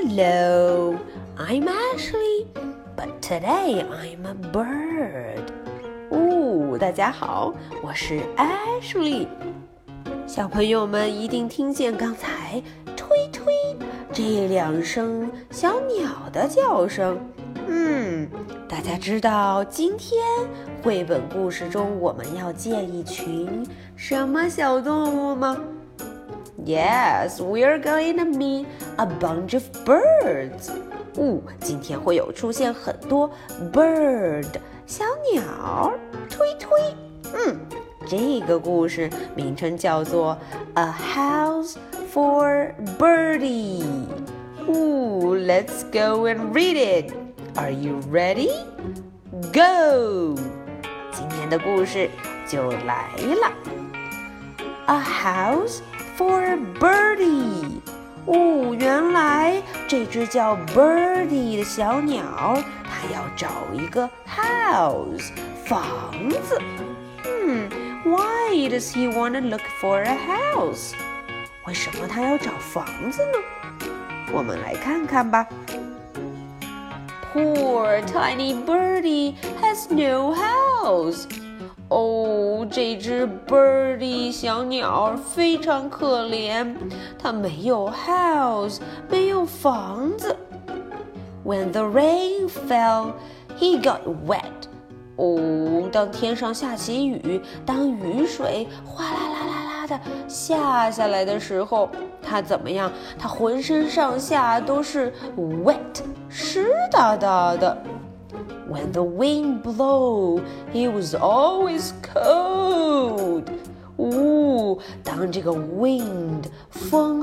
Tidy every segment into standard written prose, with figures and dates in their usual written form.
Hello, I'm Ashley, but today I'm a bird. 大家好，我是 Ashley。小朋友们一定听见刚才推推这两声小鸟的叫声。大家知道今天绘本故事中我们要见一群什么小动物吗？Yes, we're going to meet a bunch of birds. 今天会有出现很多 bird 小鸟，推推。这个故事名称叫做 A House for Birdie. Let's go and read it. Are you ready? Go! 今天的故事就来了。A house for Birdie. 原来这只叫 Birdie 的小鸟，它要找一个 house 房子。Why does he want to look for a house? 为什么他要找房子呢？我们来看看吧。Poor tiny birdie has no house. 这只 birdie 小鸟非常可怜，它没有 house， 没有房子。When the rain fell, he got wet. 当天上下起雨，当雨水哗啦啦啦啦的下下来的时候，他怎么样？他浑身上下都是 wet， 湿哒哒的。When the wind blew, he was always cold. 当这个 wind 风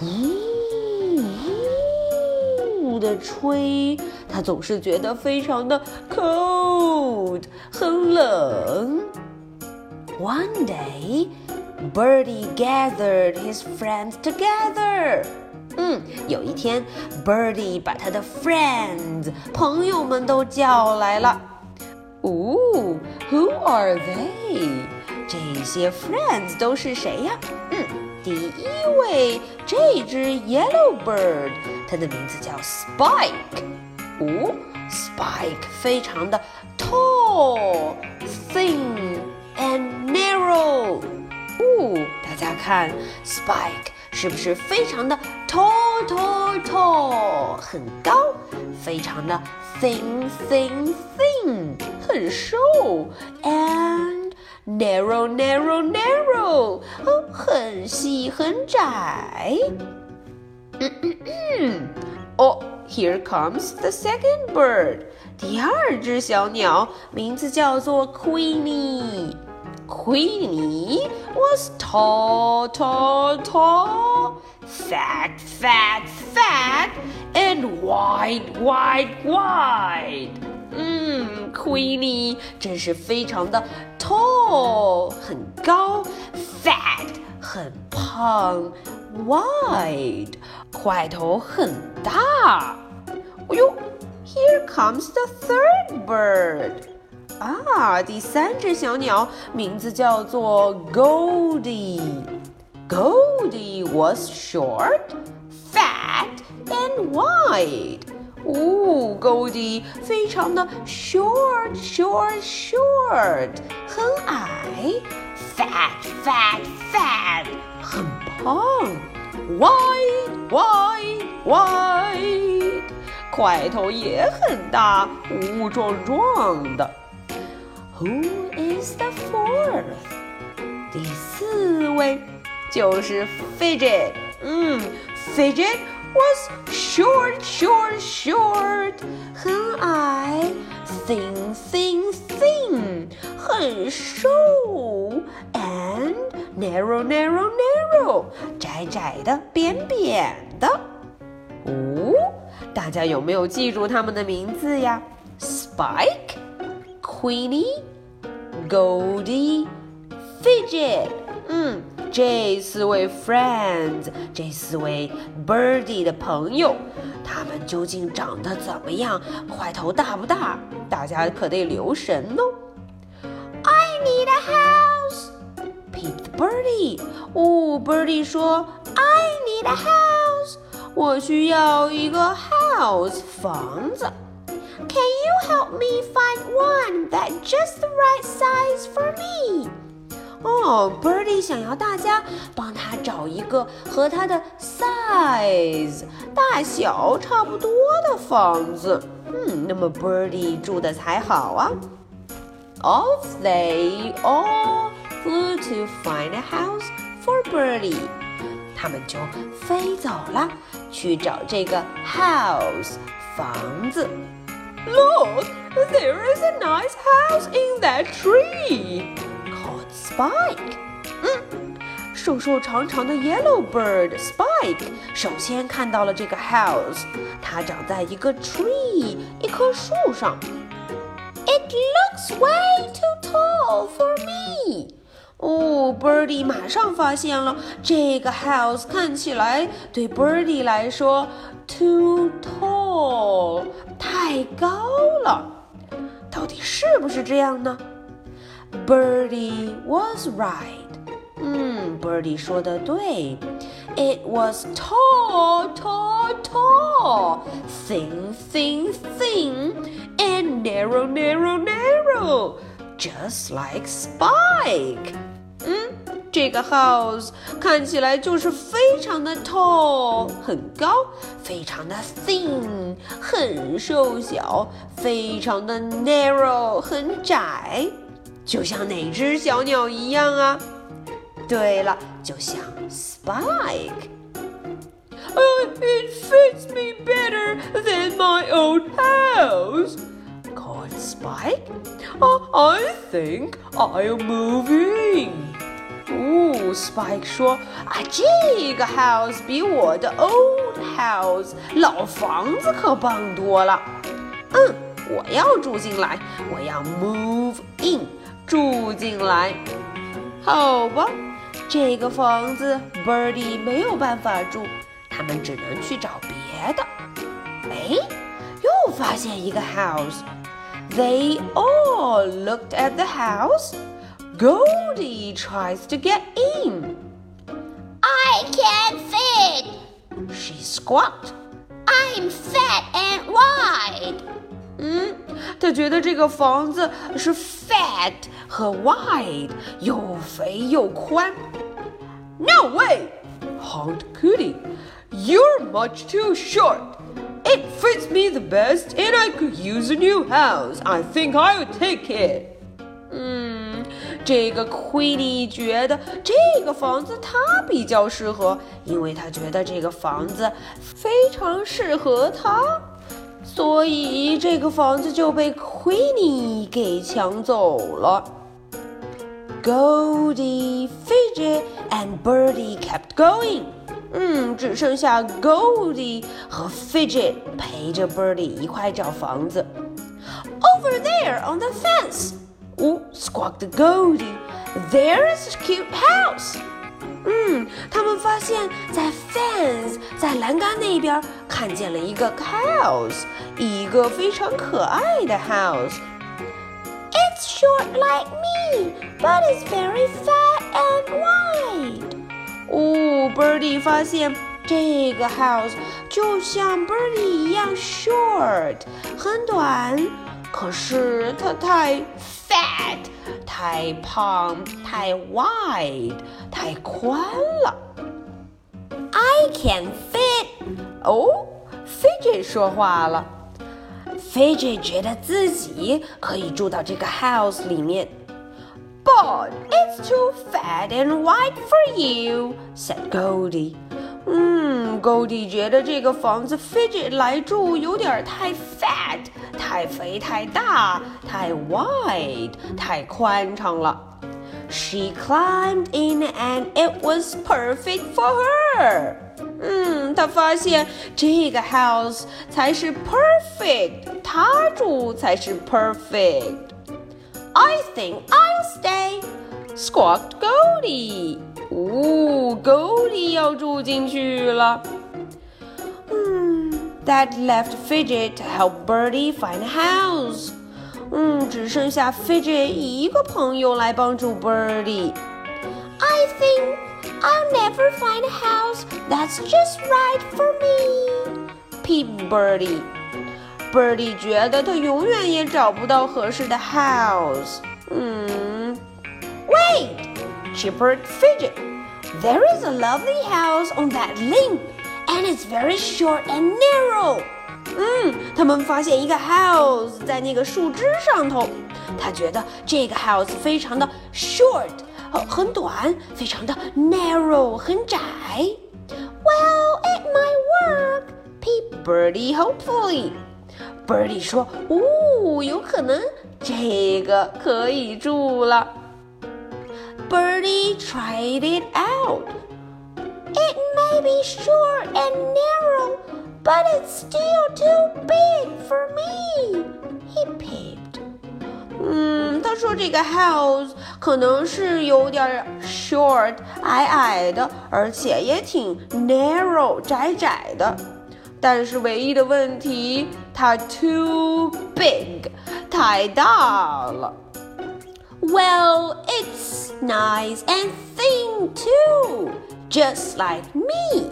呼的吹，他总是觉得非常的 cold， 很冷。One day, Birdie gathered his friends together. 有一天 Birdie 把他的 friends 朋友们都叫来了。Who are they? 这些 friends 都是谁呀？第一位，这只 yellow bird， 它的名字叫 Spike。Spike 非常的 tall, thin and narrow。大家看 Spike 是不是非常的 tall 很高，非常的 thin 很瘦 and narrow 很细很窄。Here comes the second bird. 第二只小鸟名字叫做 Queenie. Queenie was tall, fat, and wide. Queenie 真是非常的 tall 很高 fat 很胖 wide 块头很大。Here comes the third bird. 第三只小鸟名字叫做 Goldie. Goldie was short, fat, and wide. Goldie 非常的 short 很矮 fat 很胖 wide 块头也很大壮的。Who is the fourth? 第四位就是 Fidget. Fidget was short 很矮 thin 很瘦 and narrow 窄的扁的。大家有没有记住他们的名字呀？ Spike, Queenie, Goldie, Fidget. 这四位 friends， 这四位 birdie 的朋友，他们究竟长得怎么样？块头大不大？大家可得留神哦。I need a house, peeped Birdie. Birdie 说 I need a house. 我需要一个 house 房子。Can you help me find one that's just the right size for me? 哦 Birdie 想要大家帮他找一个和他的 size 大小差不多的房子。那么 Birdie 住的才好啊。Off they all flew to find a house for Birdie. 他们就飞走了，去找这个 house 房子。Look, there is a nice house in that tree, called Spike. 瘦瘦长长的 yellow bird Spike 首先看到了这个 house， 它长在一个 tree 一棵树上。It looks way too tall for me. Birdie 马上发现了这个 house 看起来对 Birdie 来说 too tall 太高了，到底是不是这样呢？ Birdie was right.Birdie 说的对 It was tall, tall, tall, thin, thin, thin, and narrow, narrow, narrow, just like Spike. 这个 house 看起来就是非常的 tall 很高，非常的 thin 很瘦小，非常的 narrow 很窄，就像哪只小鸟一样啊。对了，就像 Spike. It fits me better than my old house, called Spike. I think I'll move in. Spike 说这个 house 比我的 old house 老房子可棒多了。我要住进来，我要 move in 住进来。好吧，这个房子 Birdie 没有办法住，他们只能去找别的。又发现一个 house. They all looked at the house. Goldie tries to get in. I can't fit, she squawked. I'm fat and wide. 他觉得这个房子是 fat 和 wide 又肥又宽。No way, honked Cootie. You're much too short. It fits me the best and I could use a new house. I think I'll take it. 这个 Queenie 觉得这个房子他比较适合，因为他觉得这个房子非常适合他。所以这个房子就被 Queenie 给抢走了。Goldie, Fidget and Birdie kept going. 只剩下 Goldie 和 Fidget 陪着 Birdie 一块找房子。Over there on the fence. Squawked Goldie. There is a cute house. 他们发现在 fence 在栏杆那边看见了一个 house 一个非常可爱的 house. It's short like me, but it's very fat and wide. Birdie 发现这个 house 就像 Birdie 一样 short 很短，可是它太 fat 太胖太 wide 太宽了。I can fit. Fidget 说话了。Fidget 觉得自己可以住到这个 house 里面。But it's too fat and wide for you, said Goldie. Goldie 觉得这个房子 Fidget 来住有点太 fat 太肥太大太 wide 太宽敞了。She climbed in and it was perfect for her. 她发现这个 house 才是 perfect 她住才是 perfect. I think I'll stay, squawked Goldie. Goldie 要住进去了。That left Fidget to help Birdie find a house. 只剩下 Fidget 一个朋友来帮助 Birdie. I I think I'll never find a house that's just right for me, peeped Birdie. Birdie 觉得他永远也找不到合适的 house. Wait, chippered Fidget. There is a lovely house on that limb, and it's very short and narrow. 他们发现一个 house 在那个树枝上头。他觉得这个 house 非常的 short， 很短，非常的 narrow， 很窄。Well, it might work, peeped Birdie hopefully. Birdie 说：“有可能这个可以住了。” Birdie tried it out. It may be short and narrow, but it's still too big for me, he peeped. 他说这个 house 可能是有点 short 矮矮的，而且也挺 narrow 窄窄的。但是唯一的问题，它 too big 太大了。Well, it's nice and thin too, just like me.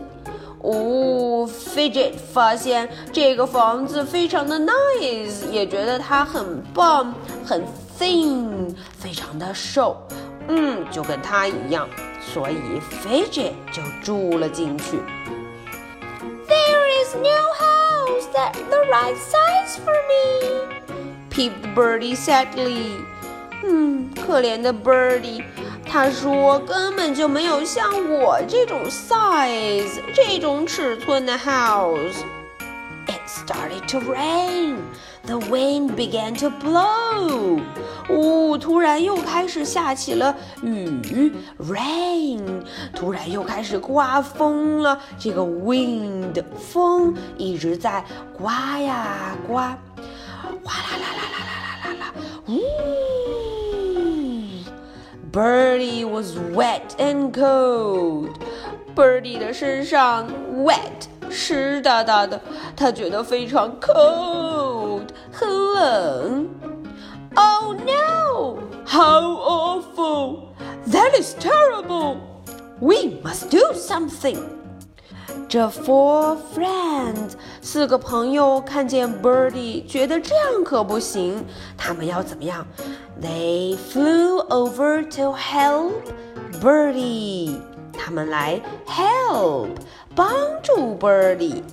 Fidget 发现这个房子非常的 nice， 也觉得它很棒，很 thin， 非常的瘦，就跟它一样，所以 Fidget 就住了进去。There is no house that's the right size for me, peeped Birdie sadly. 可怜的 Birdie， 他说根本就没有像我这种 size 这种尺寸的 house. It started to rain. The wind began to blow. 突然又开始下起了雨 rain. 突然又开始刮风了。这个 wind 风一直在刮呀刮，哗啦啦啦啦啦啦啦。Birdie was wet and cold. Birdie 的身上 wet 湿哒哒的，他觉得非常 cold 很冷。Oh no! How awful! That is terrible! We must do something. 这 four friends 4个朋友看见 Birdie， 觉得这样可不行，他们要怎么样？ They flew over to help Birdie. 他们来 help 帮助 Birdie.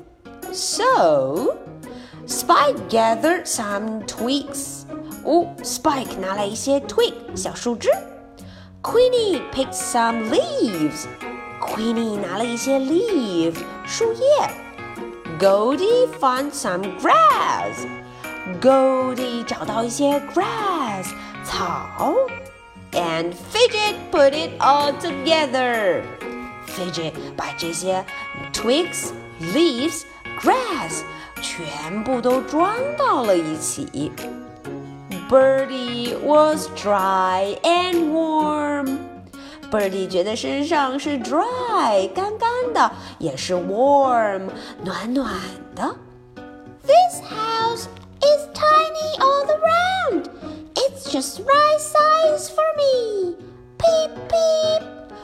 So Spike gathered some twigs. Spike 拿来一些 twig 小树枝。Queenie picked some leaves.Queenie 拿了一些 leaf 树叶。Goldie found some grass. Goldie 找到一些 grass 草。And Fidget put it all together. Fidget 把这些 twigs, leaves, grass 全部都装到了一起。Birdie was dry and warm.Birdie 觉得身上是 dry 干干的，也是 warm 暖暖的。This house is tiny all around. It's just right size for me. Peep peep.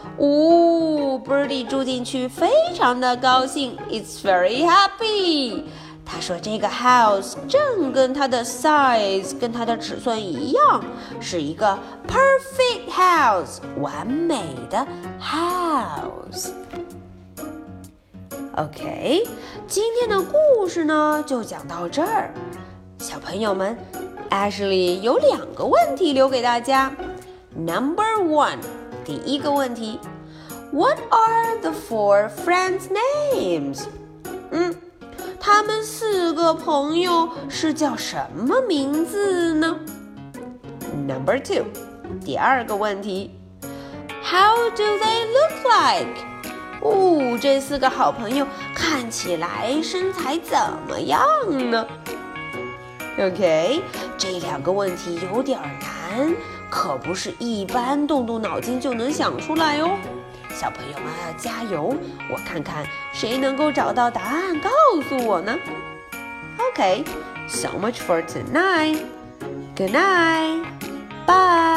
Birdie 住进去非常的高兴 ，It's very happy. 他说这个 house 正跟它的 size 跟它的尺寸一样，是一个 perfect house 完美的 house。 OK， 今天的故事呢就讲到这儿。小朋友们 Ashley 有2个问题留给大家。 Number 1， 第一个问题， What are the 4 friends' names？ 他们4个朋友是叫什么名字呢？ Number 2， 第2个问题 How do they look like？ 这4个好朋友看起来身材怎么样呢？ OK， 这2个问题有点难，可不是一般动动脑筋就能想出来哦。小朋友们要加油，我看看谁能够找到答案告诉我呢？ Okay, so much for tonight. Good night. Bye.